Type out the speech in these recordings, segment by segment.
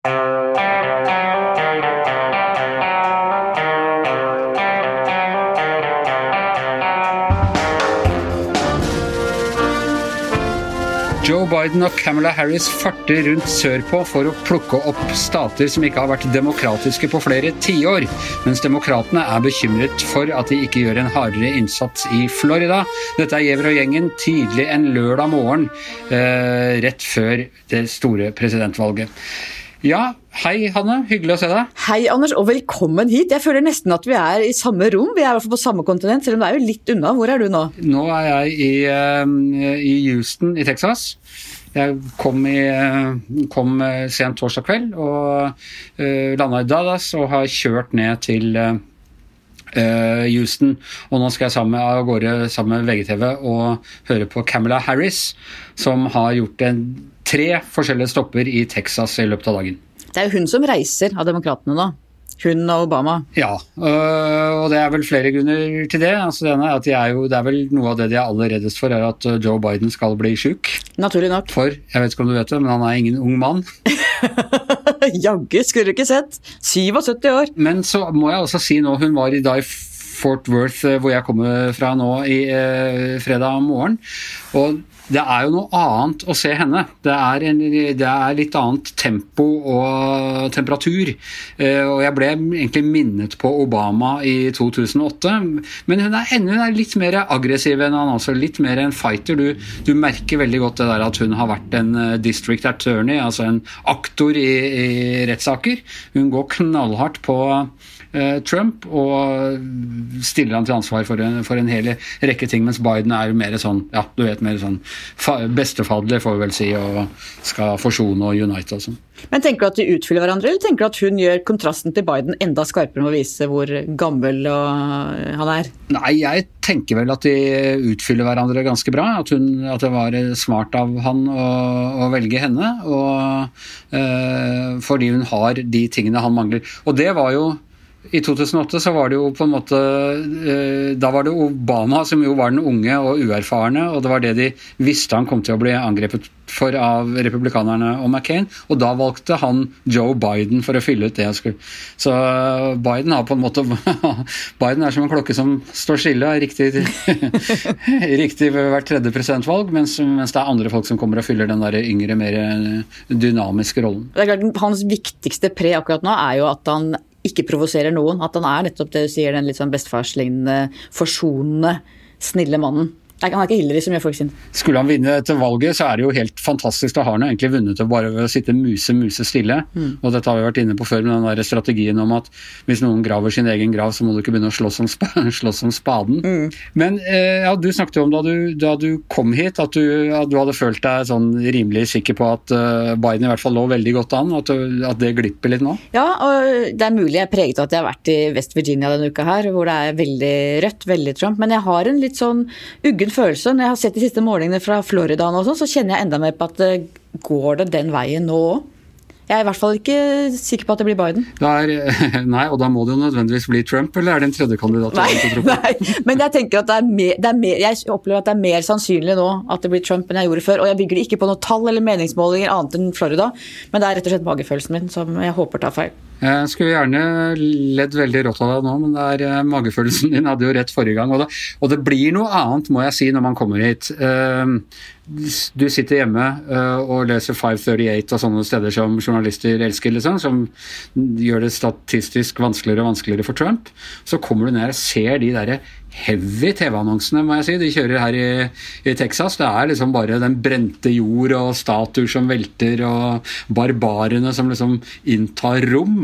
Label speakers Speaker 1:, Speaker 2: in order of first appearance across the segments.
Speaker 1: Joe Biden og Kamala Harris farter rundt sørpå for å plukke opp stater som ikke har vært demokratiske på flere tiår, mens demokratene er bekymret for at de ikke gjør en hardere innsats i Florida. Dette er Gjever og gjengen tidlig en lørdag morgen, rett før det store presidentvalget. Ja, hei Hanne, hyggelig å se deg.
Speaker 2: Hei Anders, og velkommen hit. Jeg føler nesten at vi er i samme rom, vi er i hvert fall på samme kontinent, selv om det er jo litt unna. Hvor er du nå?
Speaker 1: Nå er jeg i Houston i Texas. Jeg kom sent torsdag kveld og landet i Dallas og har kjørt ned til Houston, og nå skal jeg av gårde sammen med VGTV og høre på Kamala Harris, som har gjort 3 forskjellige stopper i Texas i løpet av dagen.
Speaker 2: Det er jo hun som reiser av demokratene da. Hun og Obama.
Speaker 1: Ja, og det er vel flere grunner til det. Altså, det er vel noe av det de er aller reddest for, er at Joe Biden skal bli syk.
Speaker 2: Naturlig nok.
Speaker 1: For, jeg vet ikke om du vet det, men han er ingen ung mann.
Speaker 2: Jaggu, skulle du ikke sett. 77 år.
Speaker 1: Men så må jeg også si nå, hun var i Fort Worth, hvor jeg kommer fra nå i fredag morgen, og det er jo noe annet å se henne. Det er litt annet tempo og temperatur. Og jeg ble egentlig minnet på Obama i 2008. Men hun er litt mer aggressiv enn han også. Litt mer en fighter. Du merker veldig godt det der at hun har vært en district attorney, altså en aktor i rettssaker. Hun går knallhardt på Trump og stiller han til ansvar for en hel rekke ting, mens Biden er mer sånn, ja, du vet, mer sånn bestefadler, får vi vel si, og skal forsone og unite og sånn.
Speaker 2: Men tenker du at de utfyller hverandre, eller tenker du at hun gjør kontrasten til Biden enda skarpere med å vise hvor gammel han er?
Speaker 1: Nei, jeg tenker vel at de utfyller hverandre ganske bra, at det var smart av han å velge henne, og fordi hun har de tingene han mangler. Og det var jo i 2008 så var det jo på en måte, da var det Obama som jo var den unge og uerfarne, og det var det de visste han kom til å bli angrepet for av republikanerne og McCain, og da valgte han Joe Biden for å fylle ut det jeg skulle. Så Biden har på en måte, Biden er som en klokke som står stille, riktig ved hvert tredje presidentvalg, mens det er andre folk som kommer og fyller den der yngre, mer dynamiske rollen.
Speaker 2: Det er klart, hans viktigste pre akkurat nå er jo at han ikke provoserer noen, at han er nettopp det du sier, den litt sånn bestefarslignende, forsonende, snille mannen. Han er ikke Hillary som gjør folk sin.
Speaker 1: Skulle han vinne etter valget, så er det jo helt fantastisk. Da har han egentlig vunnet det bare ved å sitte muse stille. Og dette har vi vært inne på før med den der strategien om at hvis noen graver sin egen grav, så må du ikke begynne å slåss om spaden. Men ja, du snakket jo om da du kom hit, at du hadde følt deg sånn rimelig sikker på at Biden i hvert fall lå veldig godt an, at det glipper litt nå.
Speaker 2: Ja, og det er mulig jeg er preget av at jeg har vært i West Virginia denne uka her, hvor det er veldig rødt, veldig Trump, men jeg har en litt sånn uggen følelse. Når jeg har sett de siste målingene fra Florida og sånn, så kjenner jeg enda mer på at går det den veien nå også? Jeg er i hvert fall ikke sikker på at det blir Biden.
Speaker 1: Nei, og da må det jo nødvendigvis bli Trump, eller er det en tredje kandidat?
Speaker 2: Nei, men jeg tenker at jeg opplever at det er mer sannsynlig nå at det blir Trump enn jeg gjorde før, og jeg bygger ikke på noe tall eller meningsmålinger annet enn Florida, men det er rett og slett magefølelsen min som jeg håper tar feil.
Speaker 1: Jeg skulle gjerne ledd veldig rått av deg nå, men det er magefølelsen din hadde jo rett forrige gang, og det blir noe annet, må jeg si, når man kommer hit. Du sitter hjemme og leser 538 og sånne steder som journalister elsker, liksom, som gjør det statistisk vanskeligere og vanskeligere for Trump. Så kommer du ned og ser de der heavy TV-annonsene, må jeg si. De kjører her i Texas. Det er liksom bare den brente jord og statuer som velter, og barbarene som liksom inntar rom.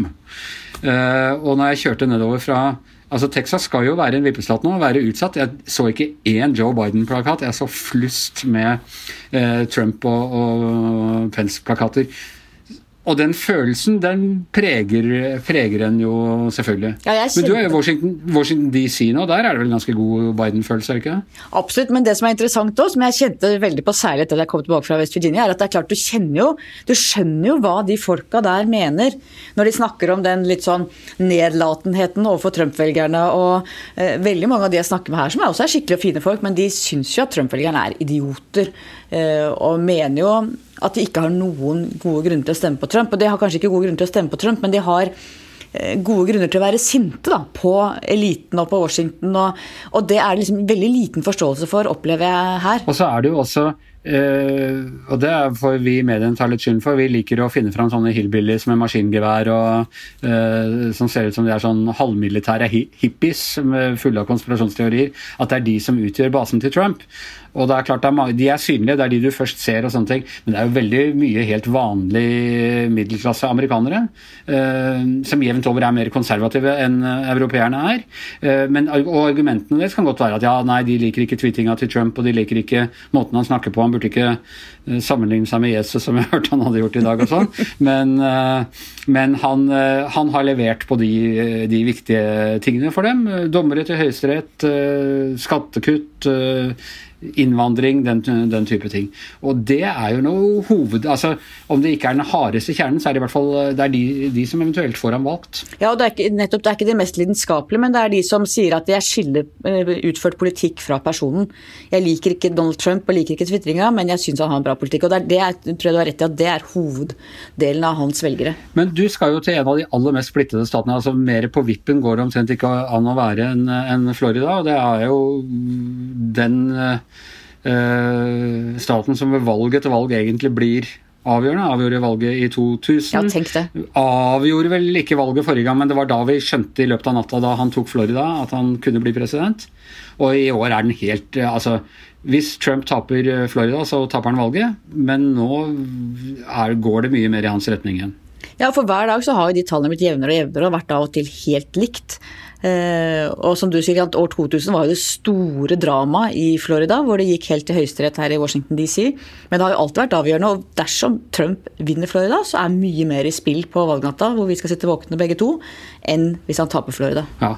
Speaker 1: Og når jeg kjørte nedover fra altså Texas skal jo være en vippestat nå, være utsatt. Jeg så ikke én Joe Biden-plakat. Jeg så flust med Trump og Pence-plakater. Og den følelsen, den preger en jo selvfølgelig. Ja, men du er jo Washington DC nå, der er det vel en ganske god Biden-følelse, er det ikke det?
Speaker 2: Absolutt, men det som er interessant også, som jeg kjente veldig på særlig etter at jeg kom tilbake fra West Virginia, er at det er klart du skjønner jo hva de folka der mener, når de snakker om den litt sånn nedlatenheten overfor Trump-velgerne, og veldig mange av de jeg snakker med her, som også er skikkelig og fine folk, men de synes jo at Trump-velgerne er idioter, og mener jo at de ikke har noen gode grunner til å stemme på Trump. Og de har kanskje ikke gode grunner til å stemme på Trump, men de har gode grunner til å være sinte da, på eliten og på Washington. Og det er liksom veldig liten forståelse for, opplever jeg her.
Speaker 1: Og så er det jo også og det får vi i mediene ta litt skyld for. Vi liker å finne fram sånne hillbillies med maskingevær og som ser ut som de er sånn halvmilitære hippies fulle av konspirasjonsteorier, at det er de som utgjør basen til Trump. Og det er klart, de er synlige, det er de du først ser og sånne ting, men det er jo veldig mye helt vanlig middelklasse amerikanere, som jevnt over er mer konservative enn europeerne er. Og argumentene deres kan godt være at ja, nei, de liker ikke tweetinga til Trump, og de liker ikke måten han snakker på. Han burde ikke sammenligne seg med Jesus, som jeg hørte han hadde gjort i dag og sånn. Men han har levert på de viktige tingene for dem. Dommere til høyesterett, skattekutt, innvandring, den type ting. Og det er jo noe altså om det ikke er den hardeste kjernen, så er det i hvert fall det er de som eventuelt får ham valgt.
Speaker 2: Ja, og det er ikke de mest lidenskapelige, men det er de som sier at jeg skiller utført politikk fra personen. Jeg liker ikke Donald Trump og liker ikke twitteringa, men jeg synes han har en bra politikk, og det tror jeg du har rett i at det er hoveddelen av hans velgere.
Speaker 1: Men du skal jo til en av de aller mest splittede statene, altså mer på vippen går det omtrent ikke an å være enn Florida, og det er jo den staten som ved valg etter valg egentlig blir avgjorde valget i 2000.
Speaker 2: Ja, tenk det.
Speaker 1: Avgjorde vel ikke valget forrige gang, men det var da vi skjønte i løpet av natta da han tok Florida at han kunne bli president. Og i år er den helt, altså hvis Trump taper Florida, så taper han valget, men nå går det mye mer i hans retning igjen.
Speaker 2: Ja, for hver dag så har jo de tallene blitt jevnere og jevnere og vært av og til helt likt. Og som du sier, at år 2000 var jo det store drama i Florida, hvor det gikk helt til høyesterett her i Washington DC, men det har jo alltid vært avgjørende, og dersom Trump vinner Florida, så er mye mer i spill på valgnatta, hvor vi skal sitte våkne begge to, enn hvis han taper Florida.
Speaker 1: Ja,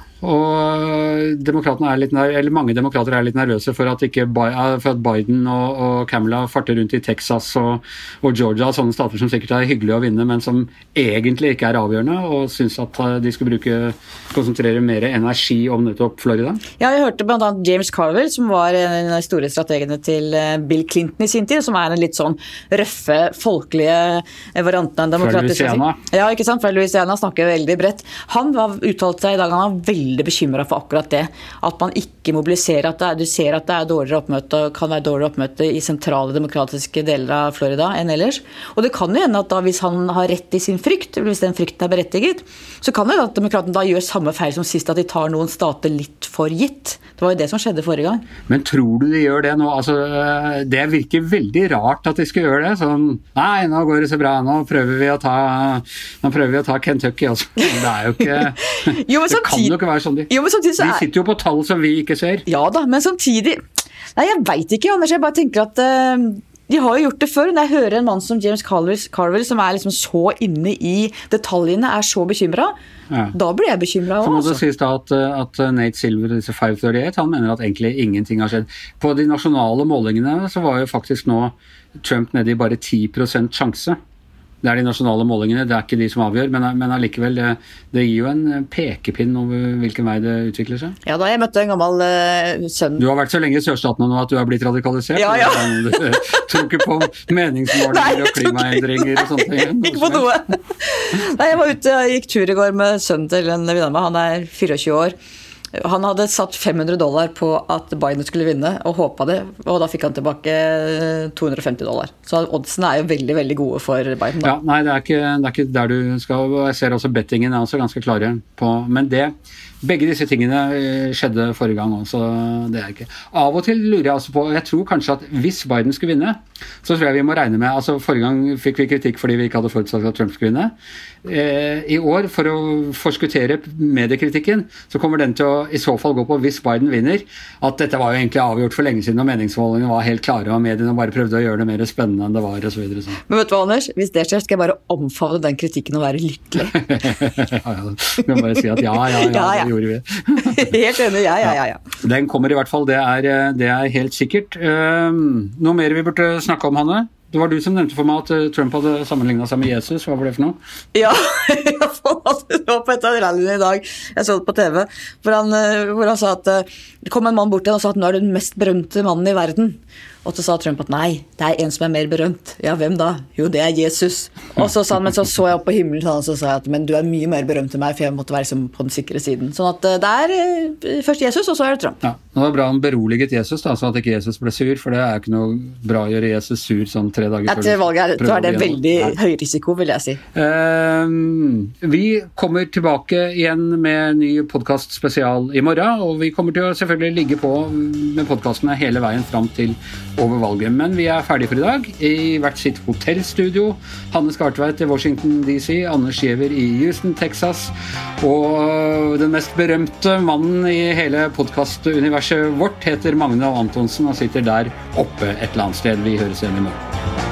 Speaker 1: og mange demokrater er litt nervøse for at Biden og Kamala farter rundt i Texas og Georgia, sånne stater som sikkert er hyggelig å vinne, men som egentlig ikke er avgjørende, og synes at de skal konsentrere mer energi om nettopp Florida? Ja,
Speaker 2: jeg hørte blant annet James Carville, som var en av de store strategene til Bill Clinton i sin tid, som er en litt sånn røffe, folkelige varianten av en demokratisk...
Speaker 1: Fra Louisiana.
Speaker 2: Ja, ikke sant? Fra Louisiana snakker veldig bredt. Han uttalte seg i dag, han var veldig bekymret for akkurat det, at man ikke mobiliserer, du ser at det er dårligere oppmøte, og kan være dårligere oppmøte i sentrale demokratiske deler av Florida enn ellers. Og det kan jo hende at da, hvis han har rett i sin frykt, hvis den frykten er berettiget, så kan det at demokratene da gjør samme feil som sist, at de tar noen stater litt for gitt. Det var jo det som skjedde forrige gang.
Speaker 1: Men tror du de gjør det nå? Altså, det virker veldig rart at de skal gjøre det. Sånn, nei, nå går det så bra, nå prøver vi å ta Kentucky også. Det er jo ikke...
Speaker 2: Jo,
Speaker 1: det kan jo ikke være sånn de.
Speaker 2: Jo, men samtidig så
Speaker 1: de sitter jo på tall som vi ikke ser.
Speaker 2: Ja da, men samtidig... Nei, jeg vet ikke, Anders. Jeg bare tenker at... De har jo gjort det før. Når jeg hører en mann som James Carville, som er liksom så inne i detaljene, er så bekymret, da blir jeg bekymret også.
Speaker 1: Så må det sies da at Nate Silver, disse 538, han mener at egentlig ingenting har skjedd. På de nasjonale målingene så var jo faktisk nå Trump nede i bare 10% sjanse. Det er de nasjonale målingene, det er ikke de som avgjør, men allikevel, det gir jo en pekepinn over hvilken vei det utvikler seg.
Speaker 2: Ja, da jeg møtte en gammel sønn.
Speaker 1: Du har vært så lenge i sørstatene nå at du har blitt radikalisert.
Speaker 2: Ja.
Speaker 1: Du tror ikke på meningsmålinger og klimaendringer og sånt.
Speaker 2: Ikke på noe. Nei, jeg var ute og gikk tur i går med sønnen til en venn av meg, han er 24 år. Han hadde satt $500 på at Biden skulle vinne, og håpet det, og da fikk han tilbake $250. Så oddsene er jo veldig, veldig gode for Biden. Da.
Speaker 1: Ja, nei, det er ikke der du skal, jeg ser også bettingen er også ganske klare på, men begge disse tingene skjedde forrige gang også, det er ikke. Av og til lurer jeg altså på, jeg tror kanskje at hvis Biden skulle vinne, så tror jeg vi må regne med, altså forrige gang fikk vi kritikk fordi vi ikke hadde forutsatt at Trump skulle vinne. I år, for å forskuttere mediekritikken, så kommer den til å i så fall gå på hvis Biden vinner, at dette var jo egentlig avgjort for lenge siden, og meningsmålingene var helt klare, og mediene bare prøvde å gjøre det mer spennende enn det var, og så videre. Så.
Speaker 2: Men vet du hva, Anders? Hvis det skjer, skal jeg bare omfavne den kritikken og være lykkelig.
Speaker 1: Ja, du kan bare si at ja. Det gjorde vi.
Speaker 2: Helt enig, ja.
Speaker 1: Den kommer i hvert fall, det er helt sikkert. Noe mer vi burde snakke om, Hanne? Det var du som nevnte for meg at Trump hadde sammenlignet seg med Jesus. Hva var det for noe?
Speaker 2: Ja, det var på et av rallyene i dag. Jeg så det på TV. Hvor han sa at det kom en mann bort til han og sa at nå er du den mest berømte mannen i verden. Og så sa Trump at nei, det en som mer berømt. Ja, hvem da? Jo, det Jesus. Og så sa han, men så jeg opp på himmelen, og så sa jeg at men du mye mer berømt enn meg, for jeg måtte være liksom på den sikre siden. Sånn at det først Jesus, og så det Trump.
Speaker 1: Ja, det var bra han beroliget Jesus da, så at ikke Jesus ble sur, for det ikke noe bra å gjøre Jesus sur sånn 3 dager før.
Speaker 2: Etter valget så det veldig høy risiko, vil jeg si.
Speaker 1: Vi kommer tilbake igjen med en ny podcast spesial i morgen, og vi kommer til å selvfølgelig ligge på med podcastene hele veien fram til over valget. Men vi ferdige for i dag, i hvert sitt hotellstudio. Hanne Skartveit i Washington DC, Anders Giæver i Houston, Texas, og den mest berømte mannen i hele podcastuniverset vårt heter Magne Antonsen og sitter der oppe et eller annet sted. Vi høres igjen i morgen.